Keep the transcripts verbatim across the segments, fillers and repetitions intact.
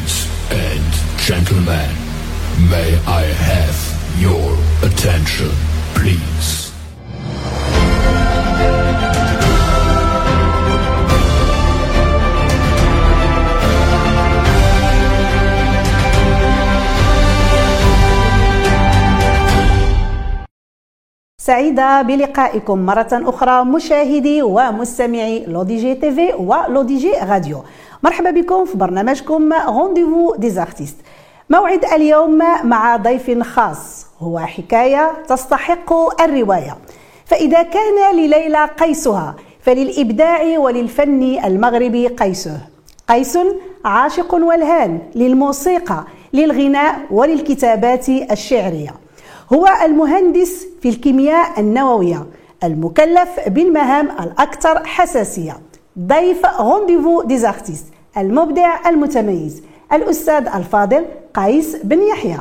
Ladies and gentlemen, may I have your attention, please? سعيدة بلقائكم مرة أخرى مشاهدي ومستمعي لوديجي تي في ولوديجي راديو. مرحبا بكم في برنامجكم رونديفو دي زارتيست. موعد اليوم مع ضيف خاص، هو حكاية تستحق الرواية. فإذا كان لليلى قيسها فللإبداع وللفن المغربي قيسه. قيس عاشق والهان للموسيقى، للغناء وللكتابات الشعرية. هو المهندس في الكيمياء النووية المكلف بالمهام الأكثر حساسية. ضيف رونديفو دي زارتيست المبدع المتميز الأستاذ الفاضل قيس بن يحيى.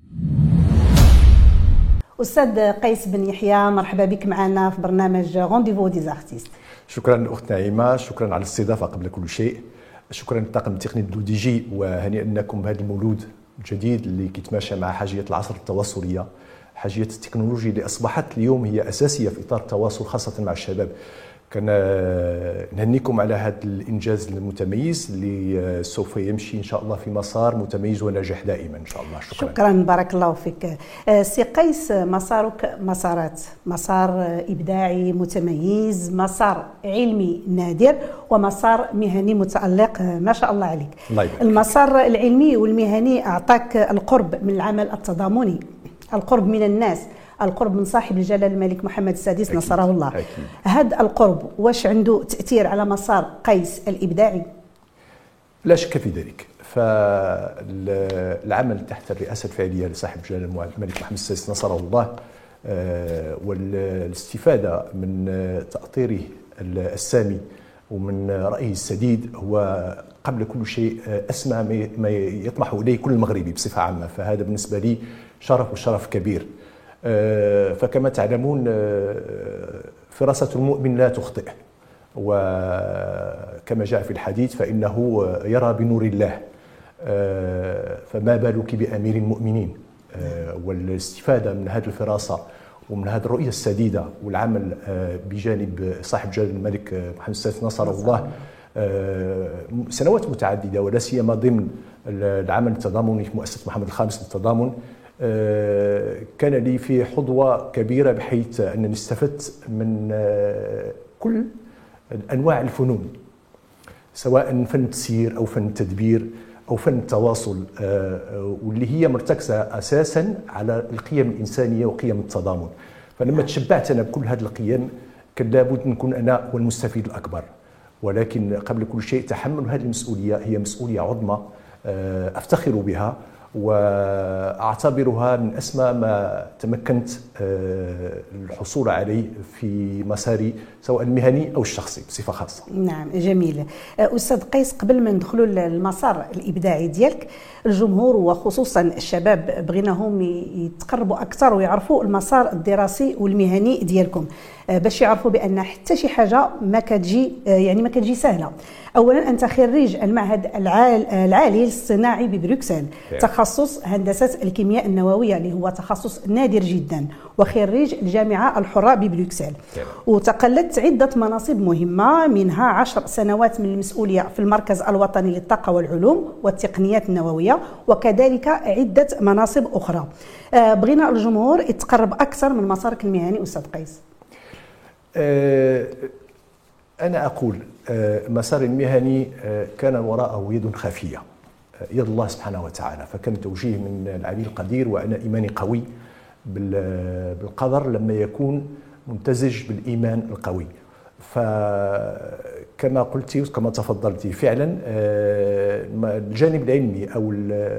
أستاذ قيس بن يحيى، مرحبا بك معنا في برنامج رونديفو دي زارتيست. شكرا أخت نعيمة، شكرا على الاستضافة قبل كل شيء. شكرا للطاقم التقني دو دي جي، وهنيئا لكم بهذا المولود الجديد اللي كيتماشى مع حاجية العصر التواصلية، حاجية التكنولوجيا اللي أصبحت اليوم هي أساسية في إطار التواصل خاصة مع الشباب. كان نهنيكم على هذا الإنجاز المتميز اللي سوف يمشي إن شاء الله في مسار متميز وناجح دائما إن شاء الله. شكرا. شكرا، بارك الله فيك. سي قيس، مسارك مسارات، مسار إبداعي متميز، مسار علمي نادر، ومسار مهني متألق ما شاء الله عليك. الله يبارك. المسار العلمي والمهني أعطاك القرب من العمل التضامني، القرب من الناس، القرب من صاحب الجلالة الملك محمد السادس نصره الله. هذا القرب واش عنده تأثير على مسار قيس الإبداعي؟ لا شك في ذلك. فالعمل تحت الرئاسة الفعلية لصاحب الجلالة الملك محمد السادس نصره الله، والاستفادة من تأطيره السامي ومن رأيه السديد هو قبل كل شيء أسمى ما يطمح إليه كل مغربي بصفة عامة. فهذا بالنسبة لي شرف وشرف كبير. فكما تعلمون فراسة المؤمن لا تخطئ، وكما جاء في الحديث فإنه يرى بنور الله، فما بالك بأمير المؤمنين. والاستفادة من هذه الفراسة ومن هذه الرؤية السديدة والعمل بجانب صاحب جلالة الملك محمد السادس نصره الله سنوات متعددة، ولا سيما ضمن العمل التضامني في مؤسسة محمد الخامس للتضامن، كان لي في حظوة كبيرة بحيث أنني استفدت من كل أنواع الفنون، سواء فن التسيير أو فن التدبير أو فن التواصل، واللي هي مرتكزة أساسا على القيم الإنسانية وقيم التضامن. فلما تشبعت أنا بكل هذه القيم كان لابد نكون أنا والمستفيد الأكبر. ولكن قبل كل شيء تحمل هذه المسؤولية هي مسؤولية عظمى أفتخر بها، وأعتبرها من أسمى ما تمكنت الحصول عليه في مساري سواء المهني أو الشخصي بصفة خاصة. نعم، جميل. أستاذ قيس، قبل ما ندخلوا المسار الإبداعي ديالك، الجمهور وخصوصا الشباب بغيناهم يتقربوا أكثر ويعرفوا المسار الدراسي والمهني ديالكم، باش يعرفوا بأن حتى شي حاجة ما كتجي يعني ما كتجي سهلة. أولا أنت خريج المعهد العالي للصناعي ببروكسل، تخصص هندسة الكيمياء النووية اللي هو تخصص نادر جدا، وخريج الجامعة الحرة ببروكسل، وتقلدت عدة مناصب مهمة، منها عشر سنوات من المسؤولية في المركز الوطني للطاقة والعلوم والتقنيات النووية، وكذلك عدة مناصب أخرى. بغينا الجمهور يتقرب أكثر من مسارك المهني أستاذ قيس. أنا أقول المسار المهني كان وراءه يد خفية، يد الله سبحانه وتعالى، فكان توجيه من العلي القدير، وأنا إيماني قوي بالقدر لما يكون ممتزج بالإيمان القوي. فكما قلتي وكما تفضلتي فعلا الجانب العلمي أو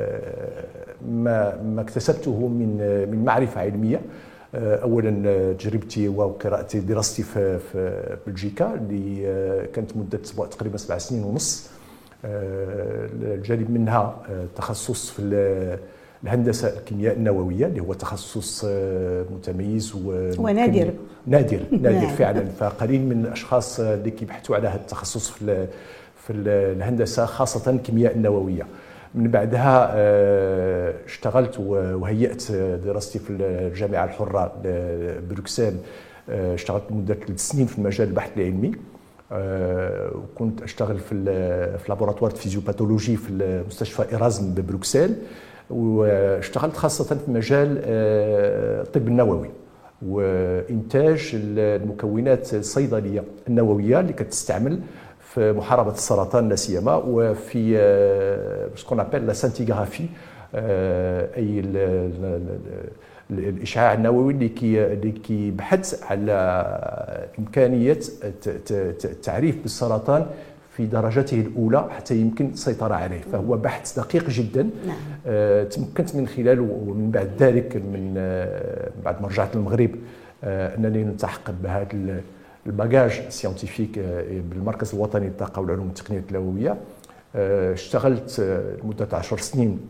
ما ما اكتسبته من من معرفة علمية، اولا تجربتي وقراءتي دراستي في في بلجيكا اللي كانت مده تقريبا سبع سنين ونص، الجانب منها تخصص في الهندسه الكيمياء النوويه اللي هو تخصص متميز ونادر نادر نادر فعلا. فقليل من الاشخاص اللي كيبحثوا على هذا التخصص في في الهندسه خاصه الكيمياء النوويه. من بعدها اشتغلت وهيأت دراستي في الجامعة الحرة بروكسل. اشتغلت مدة ثلاث سنين في مجال البحث العلمي، وكنت اشتغل في في لابوراتوار فيزيوباثولوجي في مستشفى إيرازم ببروكسل، واشتغلت خاصة في مجال الطب النووي وإنتاج المكونات الصيدلية النووية اللي كتستعمل في محاربة السرطان لا سيما، وفي سكون ابل لا سانتيغرافي، أي الإشعاع النووي اللي كي اللي كيبحث على إمكانية التعريف بالسرطان في درجته الأولى حتى يمكن السيطرة عليه. فهو بحث دقيق جدا. نعم. آه تمكنت من خلاله ومن بعد ذلك من آه بعد ما رجعت للمغرب آه أنني نلتحق بهذا الباجاج سيانتيفيك آه بالمركز الوطني للطاقة والعلوم والتقنية النووية. آه اشتغلت آه لمدة عشر سنين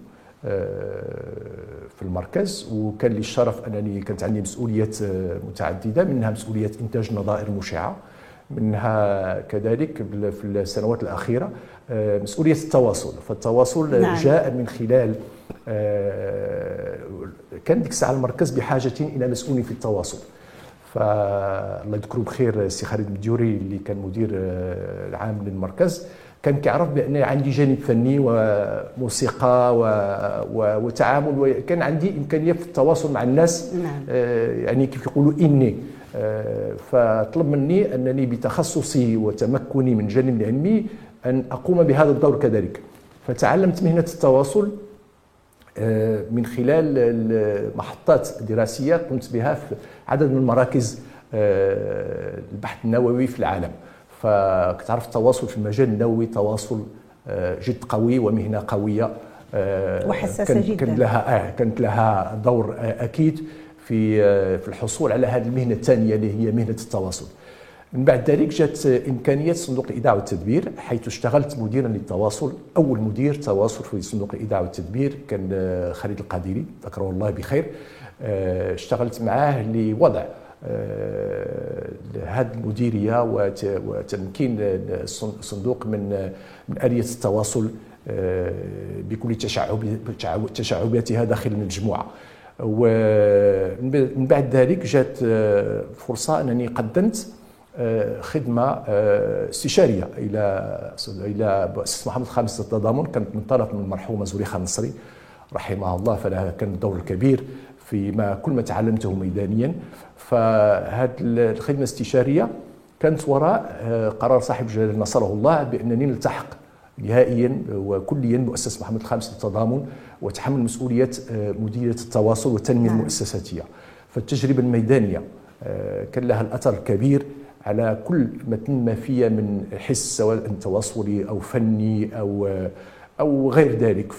في المركز، وكان لي الشرف انني كانت عندي مسؤوليات متعدده، منها مسؤوليه انتاج نظائر مشعه، منها كذلك في السنوات الاخيره مسؤوليه التواصل. فالتواصل نعم. جاء من خلال كان ديك الساعه المركز بحاجه الى مسؤول في التواصل، فالله يذكره بخير السي خالد المديوري اللي كان مدير العام للمركز كان كيعرف بان عندي جانب فني وموسيقى و... و... وتعامل، وكان عندي امكانيه في التواصل مع الناس. نعم. آه يعني كيف يقولوا اني آه فطلب مني انني بتخصصي وتمكني من الجانب العلمي ان اقوم بهذا الدور كذلك. فتعلمت مهنه التواصل آه من خلال المحطات الدراسيه قمت بها في عدد من المراكز آه البحث النووي في العالم. فكتعرف التواصل في المجال النووي تواصل جد قوي ومهنه قويه وحساسه جدا. كانت لها كانت لها دور اكيد في في الحصول على هذه المهنه الثانيه اللي هي مهنه التواصل. من بعد ذلك جات امكانيه صندوق الايداع والتدبير، حيث اشتغلت مديرا للتواصل، اول مدير تواصل في صندوق الايداع والتدبير كان خالد القادري ذكره الله بخير. اشتغلت معاه لوضع هذه المديريه وتمكين الصندوق من من آلية التواصل بكل تشعباتها داخل المجموعه. ومن بعد ذلك جات فرصه انني قدمت خدمه استشاريه الى الى مؤسسه محمد الخامس للتضامن، كانت من طرف من المرحومه زليخه النصري رحمها الله، فلها كان الدور الكبير في ما كل ما تعلمته ميدانيا. فهذه الخدمه الاستشاريه كانت وراء قرار صاحب جلاله نصره الله بانني نلتحق نهائيا وكليا مؤسسه محمد الخامس للتضامن وتحمل مسؤوليه مديريه التواصل والتنميه المؤسساتيه. فالتجربه الميدانيه كان لها الاثر الكبير على كل ما تنمى فيها من حس سواء تواصلي او فني او او غير ذلك.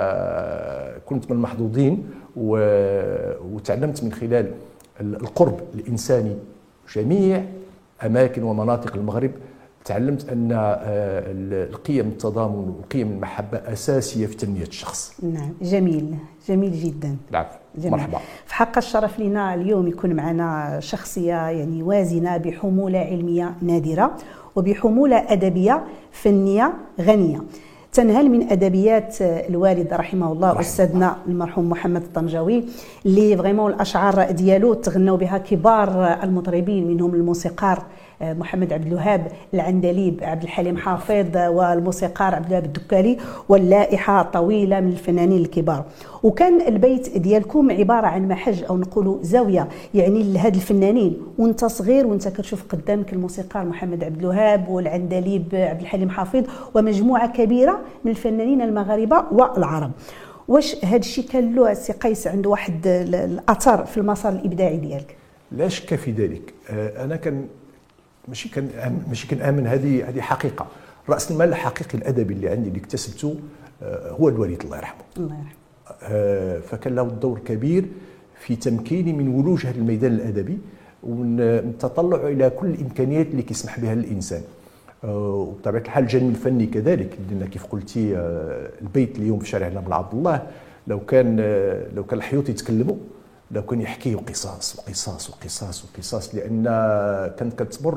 فكنت من المحظوظين وتعلمت من خلال القرب الانساني جميع اماكن ومناطق المغرب. تعلمت ان القيم التضامن وقيم المحبه اساسيه في تنميه الشخص. نعم، جميل جميل جدا. العفو، مرحبا. في حق الشرف لنا اليوم يكون معنا شخصيه يعني وازنه بحموله علميه نادره وبحموله ادبيه فنيه غنيه. تنهل من ادبيات الوالد رحمه الله رحمه استاذنا المرحوم محمد الطنجاوي، اللي فريمون الاشعار ديالو تغنوا بها كبار المطربين، منهم الموسيقار محمد عبد الوهاب، العندليب عبد الحليم حافظ، والموسيقار عبد الوهاب الدكالي، واللائحه طويله من الفنانين الكبار. وكان البيت ديالكم عباره عن محج او نقولوا زاويه يعني لهاد الفنانين، وانت صغير وانت كتشوف قدامك الموسيقار محمد عبد الوهاب والعندليب عبد الحليم حافظ ومجموعه كبيره من الفنانين المغاربه والعرب. واش هذا الشيء كان له سي قيس عنده واحد الاثر في المسار الابداعي ديالك؟ لا شك في ذلك. انا كان ماشي كان ماشي كنامن هذه هذه حقيقه. راس المال الحقيقي الادبي اللي عندي اللي اكتسبته هو الوالد الله يرحمه. الله يرحمه. فكان له دور كبير في تمكيني من ولوج هذا الميدان الادبي ومن التطلع الى كل الامكانيات اللي كيسمح بها الانسان. وبطبيعه الحال الجانب الفني كذلك، لان كيف قلتي البيت اليوم في شارع نابل عبد الله لو كان لو كان الحيوط يتكلموا لو كان يحكيوا قصص وقصص وقصص وقصص، لان كانت كتمر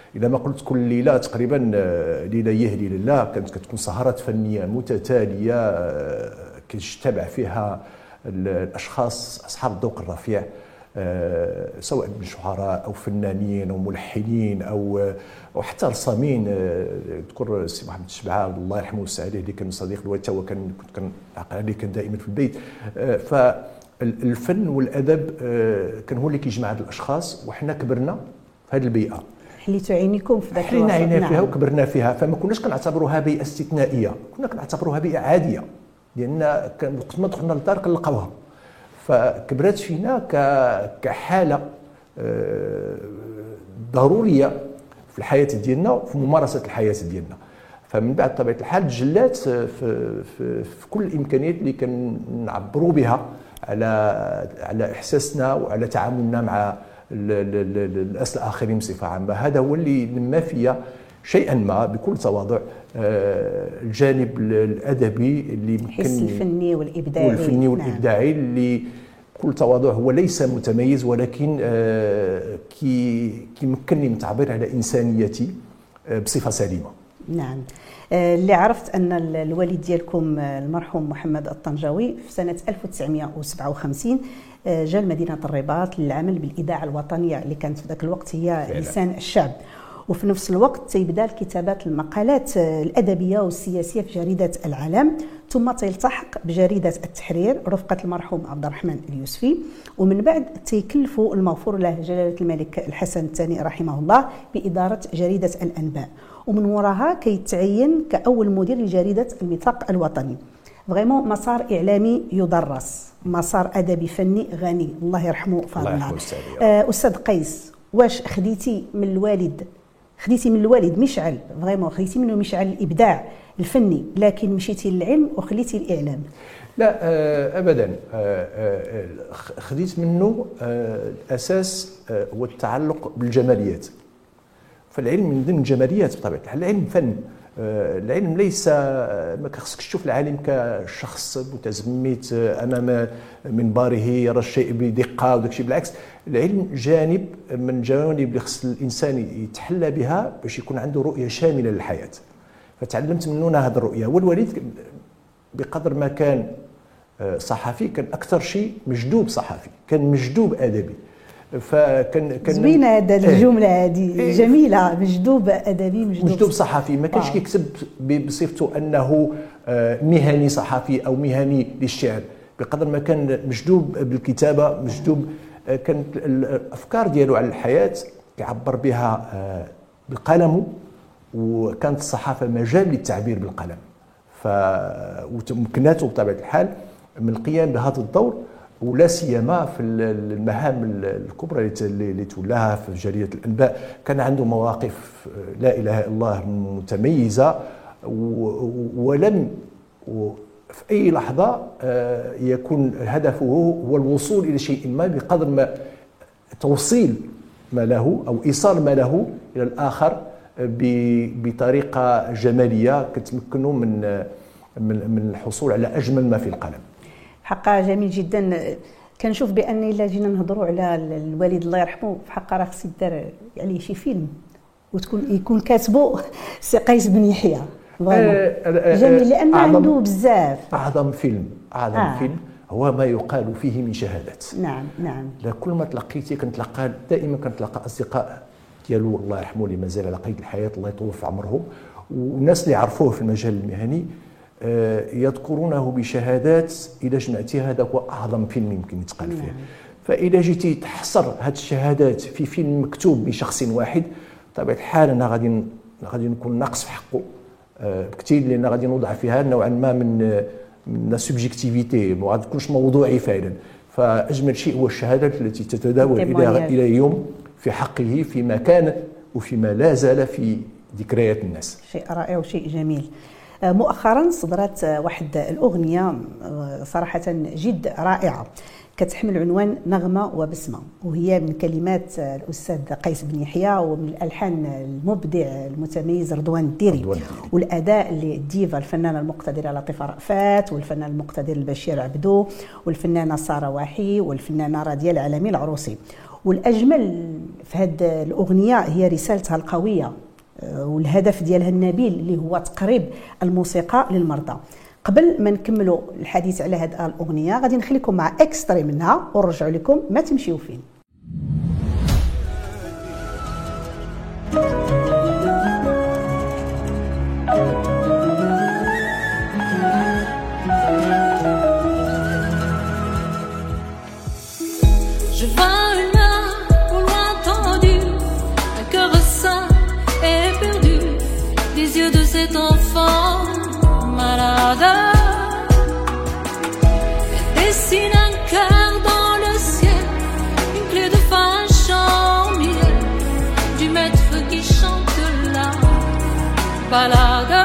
اذا ما قلت كل ليله تقريبا ليله يهدي لله كانت كتكون سهرات فنيه متتاليه كيجتمع فيها الاشخاص اصحاب الذوق الرفيع، سواء من شعراء او فنانين او ملحنين او وحتى رسامين. اذكر السي محمد الشبعه الله يرحمه ويوسع عليه اللي كان صديق الوالد، هو كان كنت كنعقل عليه كان دائما في البيت. فالفن والادب كان هو اللي كيجمع هاد الاشخاص، وحنا كبرنا في هذه البيئه، حليتوا عينيكم في ذاك الوقت. حلينا عينينا فيها وكبرنا فيها، فما كناش كنعتبروها بيئه استثنائيه، كنا كنعتبروها بيئه عاديه، لان وقت ما دخلنا للدار كنلقاوها، فكبرت فينا كحاله ضروريه في الحياه ديالنا وفي ممارسه الحياه ديالنا. فمن بعد طبيعه الحال تجلات في, في, في كل الامكانيات اللي كنعبروا بها على على احساسنا وعلى تعاملنا مع الناس الاخرين بصفه عامه. هذا هو اللي نما فيا شيئا ما بكل تواضع الجانب الادبي اللي الحس الفني والابداعي والفني والابداعي نعم. اللي بكل تواضع هو ليس متميز، ولكن كي كيمكنني من التعبير على انسانيتي بصفه سليمه. نعم. اللي عرفت ان الوالد ديالكم المرحوم محمد الطنجاوي في سنه ألف وتسعمائة وسبعة وخمسين جاء لمدينه الرباط للعمل بالاذاعه الوطنيه اللي كانت في ذاك الوقت هي فعلا. لسان الشعب، وفي نفس الوقت تيبدا الكتابات المقالات الادبيه والسياسيه في جريده العالم، ثم تلتحق بجريده التحرير رفقه المرحوم عبد الرحمن اليوسفي، ومن بعد تيكلفوا المغفور له جلاله الملك الحسن الثاني رحمه الله باداره جريده الانباء، ومن وراها كيتعين كاول مدير لجريده الميثاق الوطني. فريمون مسار اعلامي يدرس، مسار ادبي فني غني، الله يرحمه فاضلنا. آه استاذ قيس، واش خديتي من الوالد خديتي من الوالد مشعل فريمون خديتي منه مشعل الابداع الفني، لكن مشيتي للعلم وخليتي الاعلام؟ لا ابدا، خديت منه الاساس هو التعلق بالجماليات، فالعلم من ضمن الجماليات بطبيعه الحال. العلم فن، العلم ليس ما خصكش تشوف العالم كشخص متزمت امام منبره يرى الشيء بدقه وداك الشيء، بالعكس العلم جانب من الجوانب اللي خص الانسان يتحلى بها باش يكون عنده رؤيه شامله للحياه. فتعلمت منه هذه الرؤيه. والوالد بقدر ما كان صحفي كان اكثر شيء مجدوب صحفي، كان مجدوب ادبي. فكان كان زوينه هذه الجمله هذه إيه جميله، مجدوب ادبي مجدوب, مجدوب صحفي. ما كانش كيكتب بصفته انه مهني صحفي او مهني للشعر، بقدر ما كان مجدوب بالكتابه، مجدوب كانت الافكار ديالو على الحياه يعبر بها بالقلم، وكانت الصحافه مجال للتعبير بالقلم. ف ومكناته بطبيعه الحال من القيام بهذا الدور، ولا سيما في المهام الكبرى اللي تولاها في جريده الانباء. كان عنده مواقف لا اله الا الله متميزه، ولم في اي لحظه يكون هدفه هو الوصول الى شيء ما بقدر ما توصيل ما له او ايصال ما له الى الاخر بطريقه جماليه كتمكنه من من الحصول على اجمل ما في القلم. حقا جميل جدا. كنشوف بان الا جينا نهضروا على الوالد الله يرحمه، في حقا راه خص يدار عليه شي فيلم وتكون يكون كاتبه سي قيس بن يحيى. جميل، لان عنده بزاف. اعظم فيلم اعظم آه. فيلم هو ما يقال فيه من شهادات. نعم نعم. كل ما تلقيتي كنتلقى دائما كنتلقى اصدقاء ديالو الله يرحمه اللي مازال على قيد الحياه الله يطول في عمرهم، والناس اللي عرفوه في المجال المهني يذكرونه بشهادات. إذا جمعتي هذا هو أعظم فيلم يمكن يتقال فيه. فإذا جيتي تحصر هذه الشهادات في فيلم مكتوب بشخص واحد، بطبيعة الحال أنا غادي غادي نكون ناقص في حقه بكثير، لأن غادي نوضع فيها نوعا ما من من السوبجيكتيفيتي، ما غادي تكونش موضوعي فعلا. فأجمل شيء هو الشهادات التي تتداول إلى إلى اليوم في حقه فيما كان وفيما لا زال في ذكريات الناس. شيء رائع وشيء جميل. مؤخرا صدرت واحد الأغنية صراحة جد رائعة كتحمل عنوان نغمة وبسمة، وهي من كلمات الأستاذ قيس بن يحيى ومن الألحان المبدع المتميز رضوان الديري، والأداء للديفا الفنانة المقتدرة لطيفة رأفات، والفنان المقتدر البشير عبدو، والفنانة سارة واحي، والفنانة رادية العالمي العروسي. والاجمل في هذه الاغنيه هي رسالتها القويه والهدف ديالها النبيل اللي هو تقريب الموسيقى للمرضى. قبل ما نكملوا الحديث على هذه الاغنيه غادي نخليكم مع اكستري منها ونرجعوا لكم ما تمشيو فين. Je vois une main au loin tendue, un cœur sain et perdu, des yeux de cet enfant malade. Elle dessine un cœur dans le ciel, une clé de fin chant du maître qui chante la balade.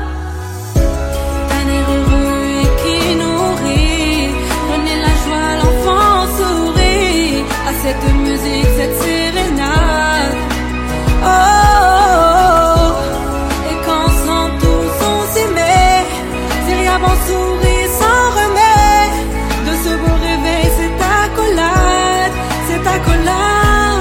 Un air heureux et qui nourrit, prenez la joie, l'enfant sourit à cette musique, cette sérénade. Oh, oh, oh. Et quand sans tous on s'aimait, c'est rien bon sourire sans remède. De ce beau réveil, cette accolade, cette accolade.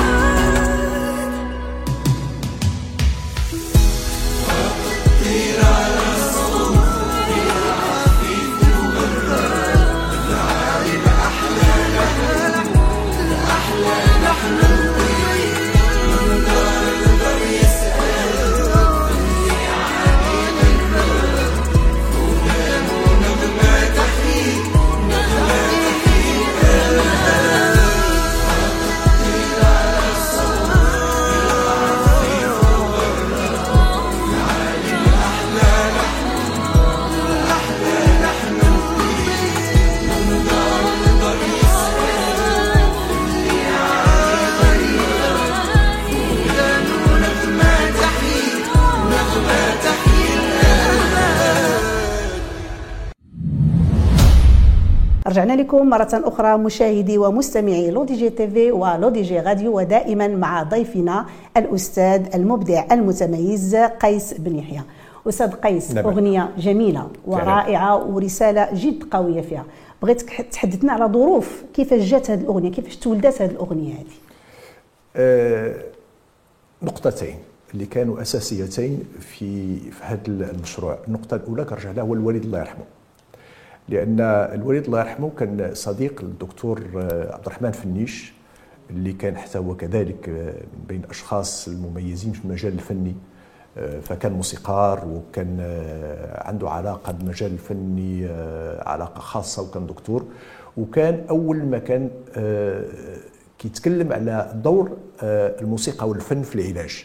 رجعنا لكم مرة أخرى مشاهدي ومستمعي لو دي جي تي في ولو دي جي راديو، ودائما مع ضيفنا الأستاذ المبدع المتميز قيس بن يحيى. أستاذ قيس، نعم. أغنية جميلة ورائعة ورسالة جد قوية فيها. بغيتك تحدثنا على ظروف كيفاش جات هذه الأغنية، كيفاش تولدت هذه الأغنية هذه. أه نقطتين اللي كانوا أساسيتين في في هذا المشروع. النقطة الأولى كنرجع لها هو الوالد الله يرحمه، لأن الوالد الله يرحمه كان صديق للدكتور عبد الرحمن فنيش، اللي كان حتى هو كذلك من بين الأشخاص المميزين في المجال الفني، فكان موسيقار وكان عنده علاقة بالمجال الفني، علاقة خاصة، وكان دكتور. وكان أول ما كان كيتكلم على دور الموسيقى والفن في العلاج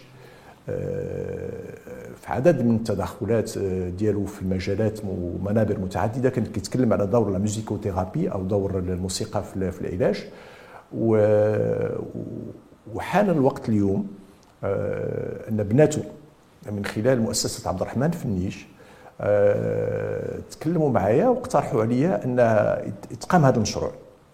في عدد من التدخلات ديالو في مجالات ومنابر متعدده. كان كيتكلم على دور الموسيكوثيرابي او دور الموسيقى في العلاج. وحان الوقت اليوم ان بناته من خلال مؤسسه عبد الرحمن فنيش تكلموا معايا واقترحوا عليا ان يتقام هذا المشروع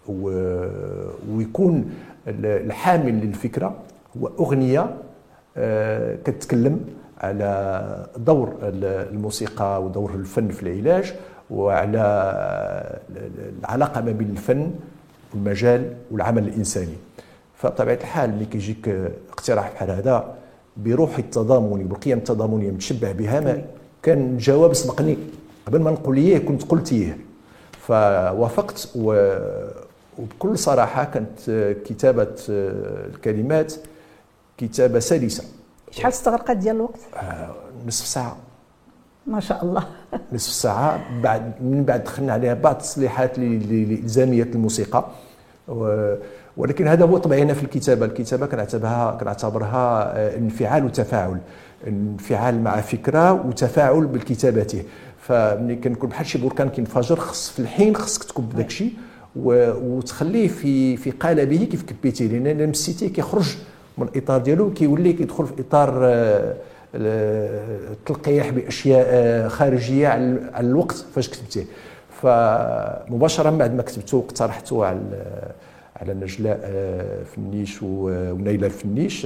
ويكون الحامل للفكره هو اغنيه كتتكلم على دور الموسيقى ودور الفن في العلاج، وعلى العلاقه ما بين الفن والمجال والعمل الانساني. فبطبيعه الحال ملي كيجيك اقتراح بحال هذا بروح التضامن والقيم التضامنيه متشبع بها، ما كان الجواب سبقني قبل ما نقول ليه كنت قلتيه، فوافقت. وبكل صراحه كانت كتابه الكلمات كتابه سلسه. شحال استغرقت ديال الوقت؟ آه نصف ساعه ما شاء الله. نصف ساعه. بعد من بعد دخلنا عليها بعض التصليحات لالزاميه الموسيقى، ولكن هذا هو طبعنا في الكتابه. الكتابه كنعتبرها كنعتبرها انفعال وتفاعل، انفعال مع فكره وتفاعل بالكتابته. فملي كنكون بحال شي بركان كينفجر، خص في الحين خصك تكب داك الشيء وتخليه في في قالبه كيف كبيتيه، لان مسيتيه كيخرج من الاطار ديالو كيولي كيدخل في اطار التلقيح باشياء خارجيه على الوقت فاش كتبتيه. فمباشره بعد ما كتبته واقترحته على على نجلاء فنيش ونيلة فنيش،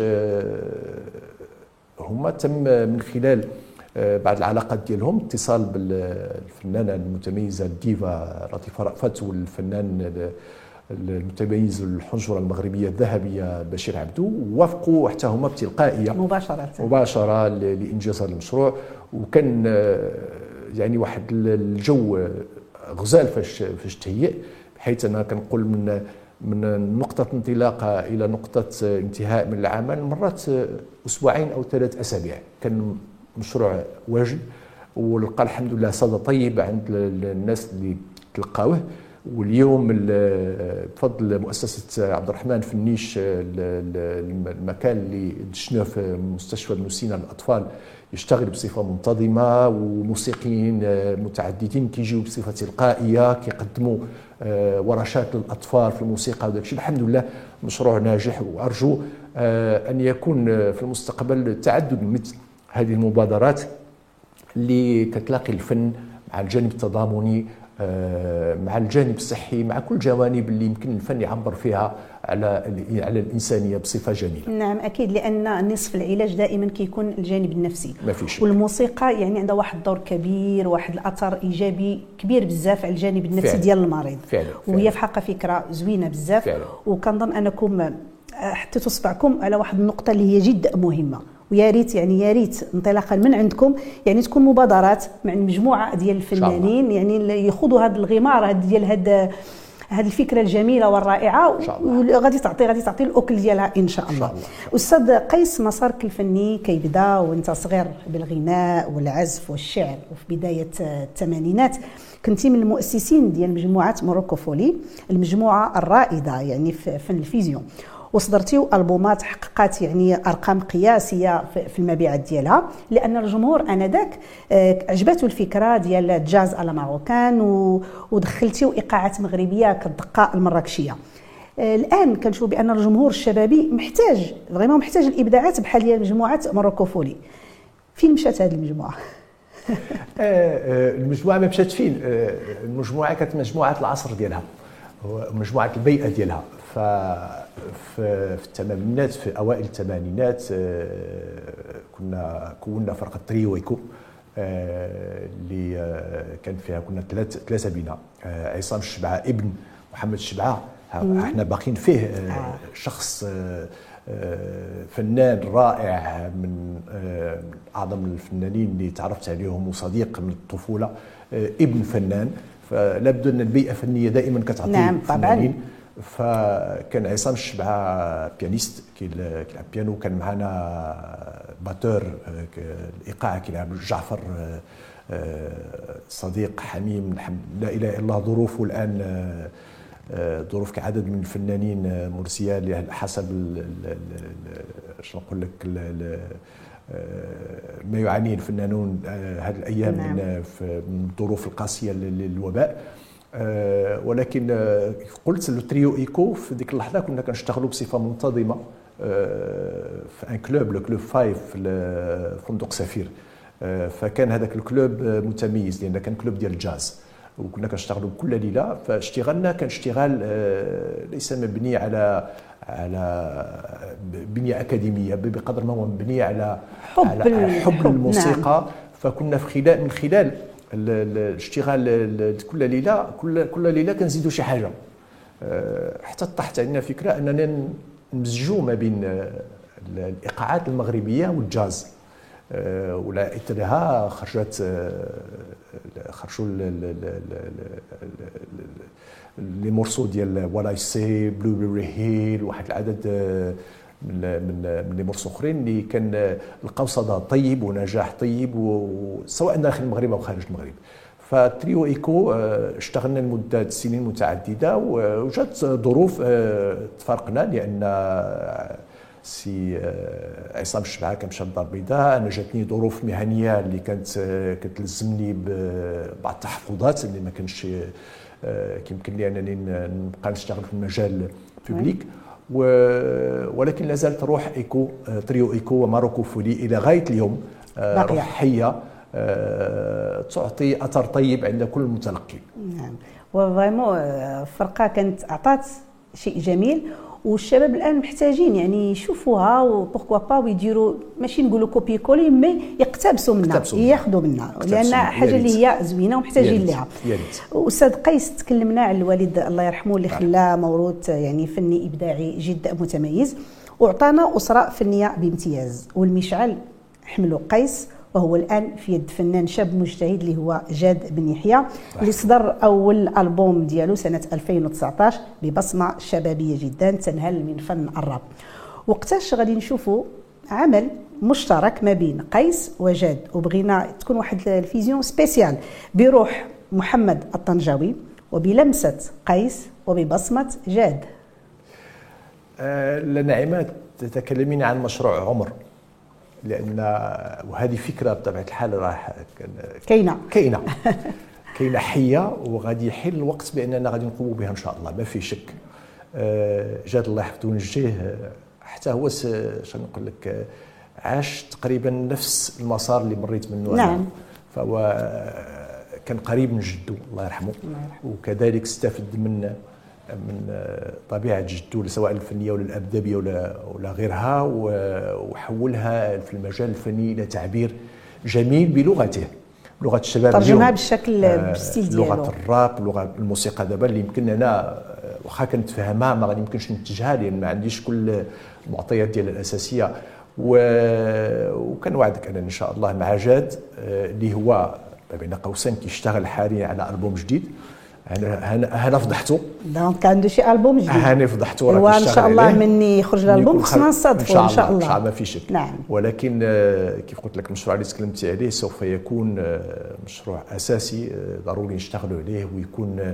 هما تم من خلال بعض العلاقات ديالهم اتصال بالفنانه المتميزه الديفا لطيفه رأفت والفنان المتميز الحنجره المغربيه الذهبيه بشير عبدو، ووافقوا حتى هما بتلقائيه مباشره مباشره لانجاز هذا المشروع. وكان يعني واحد الجو غزال فاش فاش تهيئ، بحيث انا كنقول من من نقطة انطلاقة إلى نقطة انتهاء من العمل مرات أسبوعين أو ثلاث أسابيع. كان مشروع واجد، ولقى الحمد لله صدى طيب عند الناس اللي تلقاوه. واليوم بفضل مؤسسة عبد الرحمن في النيش، المكان اللي دشناه في مستشفى ابن سينا للأطفال يشتغل بصفة منتظمة، وموسيقيين متعددين كيجيو بصفة تلقائية كيقدموا ورشات للأطفال في الموسيقى وداك الشيء. الحمد لله مشروع ناجح، وأرجو أن يكون في المستقبل تعدد مثل هذه المبادرات اللي كتلاقي الفن مع الجانب التضامني، مع الجانب الصحي، مع كل جوانب اللي يمكن الفن يعبر فيها على على الانسانيه بصفه جميله. نعم اكيد، لان نصف العلاج دائما كيكون الجانب النفسي، ما في شك. والموسيقى يعني عندها واحد الدور كبير، واحد الاثر ايجابي كبير بزاف على الجانب النفسي فعلا. ديال المريض فعلا. وهي فعلا. في حقها فكره زوينه بزاف فعلا. وكنظن انكم حطيتوا صبعكم على واحد النقطه اللي هي جد مهمه، ويا ريت يعني يا ريت انطلاقا من عندكم يعني تكون مبادرات مع مجموعه ديال الفنانين يعني ياخذوا هذا الغمار هذا ديال هذا هذه الفكره الجميله والرائعه، وغادي تعطي غادي تعطي الاكل ديالها ان شاء الله. استاذ قيس، مسارك الفني كيبدا وانت صغير بالغناء والعزف والشعر، وفي بدايه الثمانينات كنتي من المؤسسين ديال مجموعه موروكو فولي، المجموعه الرائده يعني في فن الفيزيون، وصدرتيو البومات حققت يعني ارقام قياسيه في المبيعات ديالها، لان الجمهور انذاك عجبته الفكره ديال الجاز على ماروكان، ودخلتيو ايقاعات مغربيه كالدقه المراكشيه. الان كنشوف بان الجمهور الشبابي محتاج فريمون محتاج الابداعات بحال ديال مجموعه موروكو فولي. فين مشات هذه المجموعه؟ المجموعه ما مشات فين، المجموعه كانت مجموعه العصر ديالها، مجموعه البيئه ديالها. ف في الثمانينات، في اوائل الثمانينات كنا كونا فرقه تريو ايكو اللي كان فيها كنا ثلاث ثلاثه بينا، عصام الشبعه ابن محمد الشبعه، احنا باقيين فيه شخص فنان رائع من اعظم الفنانين اللي تعرفت عليهم وصديق من الطفوله، ابن فنان. فلا بد ان البيئه الفنيه دائما كتعطي نعم فنانين. فكان عصام الشبعه بيانيست كيلعب بيانو، كان معنا باتور الايقاع كيلعب جعفر صديق حميم لا اله الا الله، ظروفه الان ظروف كعدد من الفنانين مرسيه حسب شنو نقول لك ما يعانيه الفنانون هذه الايام نعم. من الظروف القاسيه للوباء. أه ولكن أه قلت للتريو ايكو في ديك اللحظه كنا كنشتغلوا بصفه منتظمه أه في ان كلوب، لو كلوب فايف في فندق سفير. أه فكان هذاك الكلوب متميز لان كان كلوب ديال الجاز، وكنا كنشتغلوا كل ليله. فاشتغالنا كان اشتغال أه ليس مبني على على بنيه اكاديميه بقدر ما هو مبني على حب على حب الموسيقى. نعم. فكنا في خلال من خلال الاشتغال كل ليله كل كل ليله كنزيدوا شي حاجه، حتى طاحت عندنا فكره اننا نمزجوا ما بين الايقاعات المغربيه والجاز، ولا اثرها خرجت خرجوا لي مورسو ديال ولا سي بلو بيري هيل، واحد العدد من من من لي مورسو اخرين اللي كان لقاو صدى طيب ونجاح طيب، سواء داخل المغرب او خارج المغرب. فتريو ايكو اشتغلنا لمده سنين متعدده، وجات ظروف تفارقنا لان سي عصام الشبعه كان مشى للدار البيضاء، انا جاتني ظروف مهنيه اللي كانت كتلزمني ببعض التحفظات اللي ما كانش كيمكن لي انني نبقى نشتغل في المجال الببليك. ولكن لا زالت روح ايكو تريو ايكو وماروكو فولي الى غايه اليوم روح حيه تعطي اثر طيب عند كل متلقي. نعم، وفريمون الفرقه كانت اعطت شيء جميل، والشباب الان محتاجين يعني يشوفوها وبوركوا با ويديروا ماشي نقولوا كوبي كولي مي يقتبسوا منها ياخذوا منها لان حاجه اللي هي زوينه ومحتاجين لها. استاذ قيس تكلمنا على الوالد الله يرحمه اللي خلاه موروث يعني فني ابداعي جدا متميز واعطانا اسره فنيه بامتياز والمشعل حملوا قيس وهو الان في يد فنان شاب مجتهد اللي هو جاد بن يحيى اللي صدر اول البوم ديالو سنه ألفين وتسعطاش ببصمه شبابيه جدا تنهل من فن الراب. وقتاش غادي نشوفوا عمل مشترك ما بين قيس وجاد وبغينا تكون واحد الفيزيون سبيسيال بروح محمد الطنجاوي وبلمسه قيس وببصمه جاد. أه لنعمات تتكلمين عن مشروع عمر لان وهذه فكره بطبيعه الحال راح كاينه كاينه كاينه حيه وغادي يحل الوقت باننا غادي نقوموا بها ان شاء الله ما في شك. جاد الله يحفظه ونجيه حتى هو شنو نقول لك عاش تقريبا نفس المسار اللي مريت منه نعم. أنا. فهو كان قريب من جده الله يرحمه وكذلك استفد من من طبيعه جده سواء الفنيه ولا الادبيه ولا ولا غيرها وحولها في المجال الفني الى تعبير جميل بلغته لغه الشباب ترجمها بالشكل بالستيل ديالو لغه الراب لغه الموسيقى دابا اللي يمكن انا واخا كنتفهمها ما غادي يمكنش ننتجها لان ما عنديش كل المعطيات ديالها الاساسيه وكنوعدك انا ان شاء الله مع جاد اللي هو بين قوسين كيشتغل حاليا على البوم جديد. انا انا فضحته دونك عنده شي البوم جديد انا فضحته راه وان شاء الله مني يخرج الالبوم خصنا نصادفوا ان شاء الله ان شاء الله ما في شك. نعم. ولكن كيف قلت لك المشروع اللي تكلمتي عليه سوف يكون مشروع اساسي ضروري نشتغلوا عليه ويكون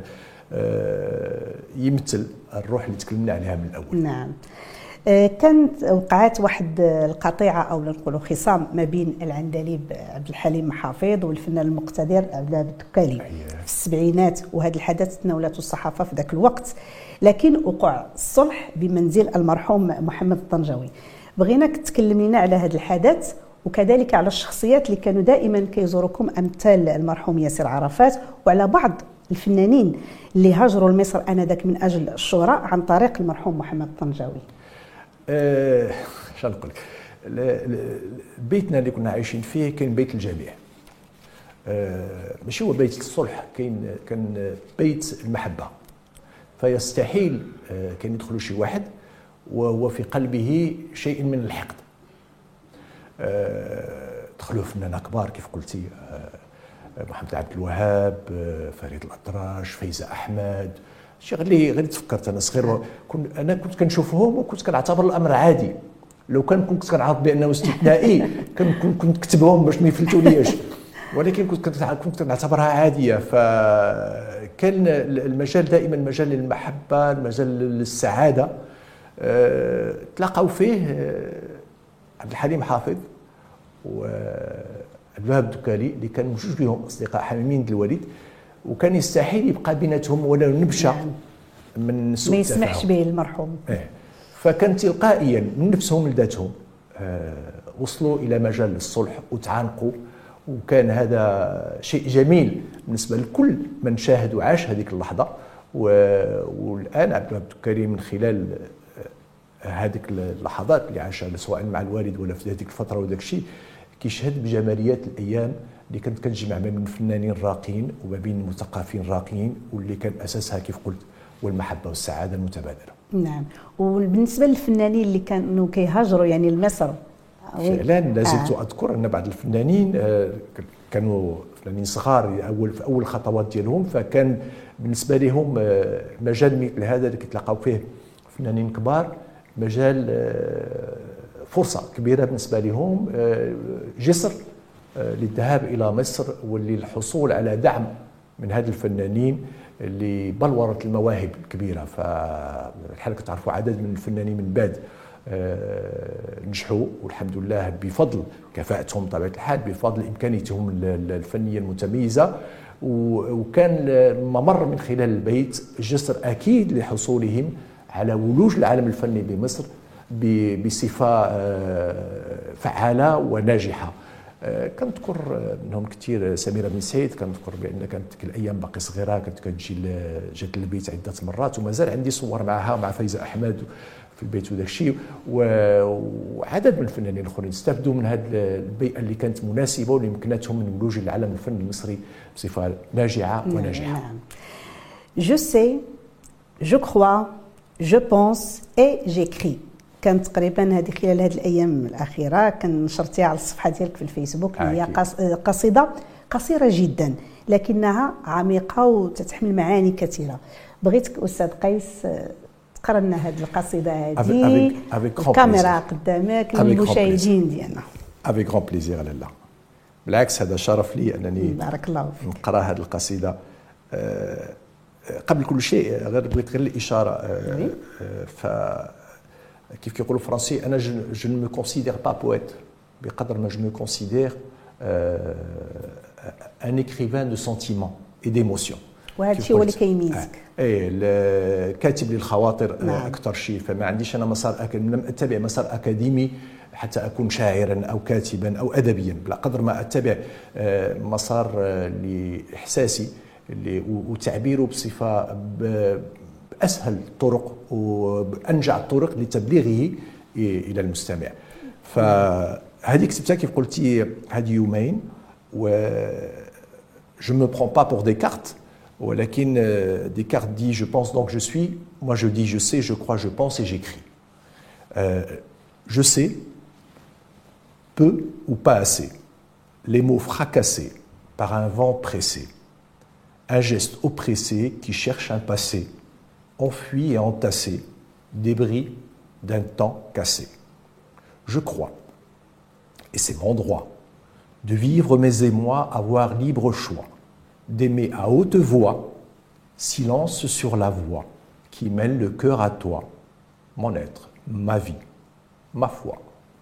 يمثل الروح اللي تكلمنا عليها من الاول. نعم. كانت وقعت واحد القطيعه او نقولوا خصام ما بين العندليب عبد الحليم محافظ والفنان المقتدر عبد الوهاب الدكالي في السبعينات وهذا الحدث تناولته الصحافه في ذاك الوقت لكن وقع الصلح بمنزل المرحوم محمد الطنجاوي. بغيناك تكلم لنا على هذا الحدث وكذلك على الشخصيات اللي كانوا دائما كيزوركم امثال المرحوم ياسر عرفات وعلى بعض الفنانين اللي هاجروا لمصر انذاك من اجل الشهره عن طريق المرحوم محمد الطنجاوي. أه شنو نقول لك بيتنا اللي كنا عايشين فيه كان بيت الجميع أه ماشي هو بيت الصلح كاين كان بيت المحبه فيستحيل أه كان يدخل شي واحد وهو في قلبه شيء من الحقد. أه دخلوا فنانين كبار كيف قلتي أه محمد عبد الوهاب أه فريد الأطراش فايزة أحمد شي غير غير تفكرت انا صغير كنت انا كنت كنشوفهم وكنت كنعتبر الامر عادي لو كان كنت كنعرف بانه استثنائي كنت كنت كتبهم باش ما يفلتوليش ولكن كنت كنت كنعتبرها عاديه. فكان المجال دائما مجال للمحبه المجال للسعاده أه تلاقوا فيه عبد الحليم حافظ وعبد الوهاب الدكالي اللي كانوا جوج لهم اصدقاء حميمين الوالد وكان يستحيل يبقى بيناتهم ولا نبشه من سوء ما يسمحش به المرحوم. إيه. فكان تلقائيا من نفسهم لذاتهم آه وصلوا الى مجال الصلح وتعانقوا وكان هذا شيء جميل بالنسبه لكل من شاهد وعاش هذيك اللحظه. والان عبد الوهاب الدكالي من خلال هذيك اللحظات اللي عاشها سواء مع الوالد ولا في هذيك الفتره وذاك الشيء كيشهد بجماليات الايام اللي كانت كتجمع ما بين فنانين راقيين وما بين مثقفين راقيين واللي كان اساسها كيف قلت والمحبه والسعاده المتبادله. نعم. وبالنسبه للفنانين اللي كانوا كيهاجروا يعني لمصر فعلا لازلت آه. اذكر ان بعض الفنانين كانوا فنانين صغار اول في اول خطوات ديالهم فكان بالنسبه لهم مجال مثل هذا اللي كيتلاقاو فيه فنانين كبار مجال فرصه كبيره بالنسبه لهم جسر للذهاب الى مصر وللحصول على دعم من هذه الفنانين اللي بلورت المواهب الكبيره. فالحال كتعرفوا عدد من الفنانين من بعد نجحوا والحمد لله بفضل كفاءتهم بطبيعه الحال بفضل امكانياتهم الفنيه المتميزه وكان الممر من خلال البيت جسر اكيد لحصولهم على ولوج العالم الفني بمصر بصفه فعاله وناجحه. كنذكر منهم كثير سميره بن سعيد كنذكر بان كانت ديك الايام باقي صغيره كانت كتجي جات للبيت عده مرات ومازال عندي صور معها مع فايزه احمد في البيت وداك الشيء. وعدد من الفنانين الاخرين استفدوا من هذه البيئه اللي كانت مناسبه واللي يمكنتهم من ولوج العالم الفني المصري بصفه ناجعه وناجحه. نعم. جو سي جو كخوا جو بونس اي جيكري كانت تقريبا هذه خلال هذه الايام الاخيره كان نشرتيها على الصفحه ديالك في الفيسبوك. هي قصيده قصيره جدا لكنها عميقه وتتحمل معاني كثيره. بغيتك استاذ قيس تقرا لنا هذه القصيده هذه الكاميرا قدامك للمشاهدين ديالنا. افيك غون بليزير لاله. بالعكس هذا شرف لي انني بارك الله فيك نقرا هذه القصيده. أه قبل كل شيء غير بغيت غير الاشاره. أه ف كيف كيقولوا الفرنسي انا جو ne me considère pas poète بقدر ما je me considère euh, un écrivain de sentiments et d'émotions. وهذا الشيء هو اللي كيميزك. اي كاتب للخواطر. نعم. اكثر شيء فما عنديش انا مسار أك... لم اتبع مسار اكاديمي حتى اكون شاعرا او كاتبا او ادبيا، بلا قدر ما اتبع مسار لاحساسي وتعبيره بصفه باسهل الطرق وبانجع الطرق لتبليغه الى المستمع. فهذه كتبتها كيف قلتي هذه يومين و je me prends pas pour Descartes ولكن Descartes dit je pense donc je suis, moi je dis je sais, je crois, je pense et j'écris. Euh, je sais peu ou pas assez, les mots fracassés par un vent pressé, un geste oppressé qui cherche un passé, enfui et entassé, débris d'un temps cassé. Je crois, et c'est mon droit, de vivre mes émois, avoir libre choix, d'aimer à haute voix, silence sur la voix qui mêle le cœur à toi, mon être, ma vie, ma foi.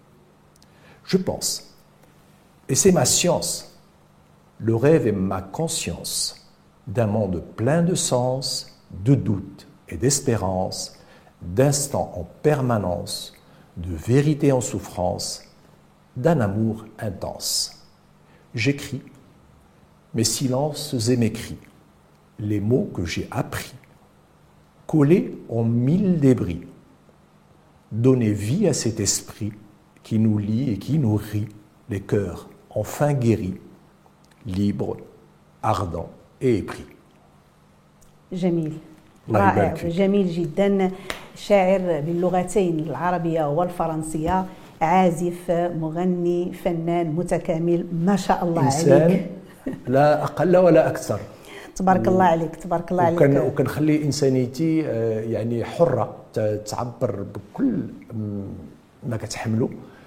Je pense, et c'est ma science, le rêve est ma conscience d'un monde plein de sens, de doute et d'espérance, d'instants en permanence, de vérité en souffrance, d'un amour intense. J'écris mes silences et mes cris, les mots que j'ai appris, collés en mille débris, donner vie à cet esprit qui nous lie et qui nourrit les cœurs enfin guéris, libres, ardents et épris. جميل رائع جميل جدا. شاعر باللغتين العربية والفرنسية، عازف، مغني، فنان متكامل ما شاء الله عليك. لا أقل ولا أكثر. تبارك الله عليك تبارك الله عليك. وكان وكنخلي إنسانيتي يعني حرة تعبر بكل ما كتحمله،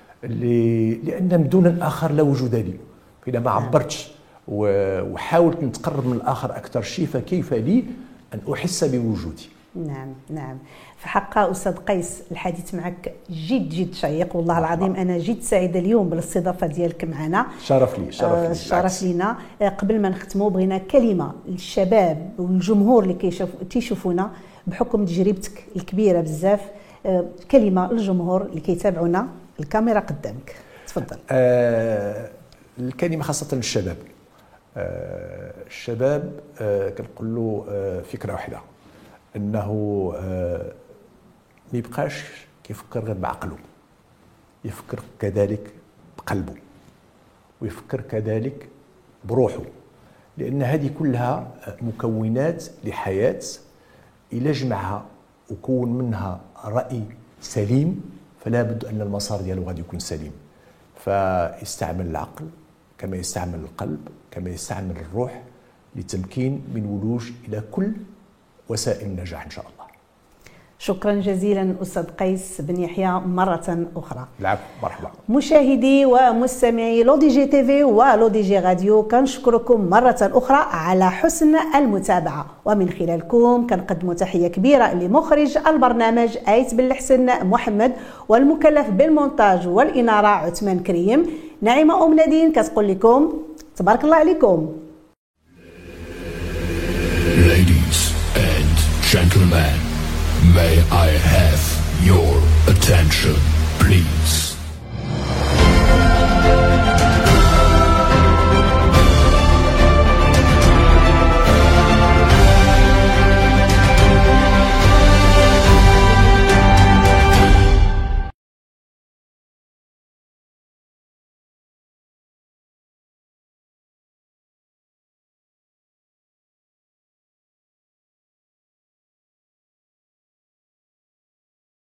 لأن بدون الآخر لا وجود لي. إذا ما عبرتش وحاولت نتقرب من الآخر أكثر شيء فكيف لي أن أحس بوجودي. نعم نعم في حق أستاذ قيس الحديث معك جد جد شيق والله العظيم. أنا جد سعيدة اليوم بالاستضافة ديالك معنا. شرف لي شرف لي. شرف لينا. قبل ما نختموا بغينا كلمة للشباب والجمهور اللي كيشوفونا بحكم تجربتك الكبيرة بزاف، كلمة للجمهور اللي كيتابعونا. الكاميرا قدامك تفضل. آه الكلمة خاصة للشباب. آه الشباب آه كنقول له آه فكرة واحدة، انه ما يبقاش كيفكر غير بعقله، يفكر كذلك بقلبه ويفكر كذلك بروحه، لان هذه كلها مكونات لحياه الى جمعها وكون منها راي سليم فلا بد ان المسار ديالو غادي يكون سليم. فيستعمل العقل كما يستعمل القلب كما يستعمل الروح للتمكين من ولوج الى كل وسائل النجاح إن شاء الله. شكرا جزيلا أستاذ قيس بن يحيى مرة أخرى. العفو مرحبا. مشاهدي ومستمعي لو دي جي تي في ولو دي جي راديو كنشكركم مرة أخرى على حسن المتابعة، ومن خلالكم كنقدموا تحية كبيرة لمخرج البرنامج آيت بن الحسن محمد، والمكلف بالمونتاج والإنارة عثمان كريم. نعيمة أم نادين كتقول لكم تبارك الله عليكم. Gentlemen, may I have your attention, please?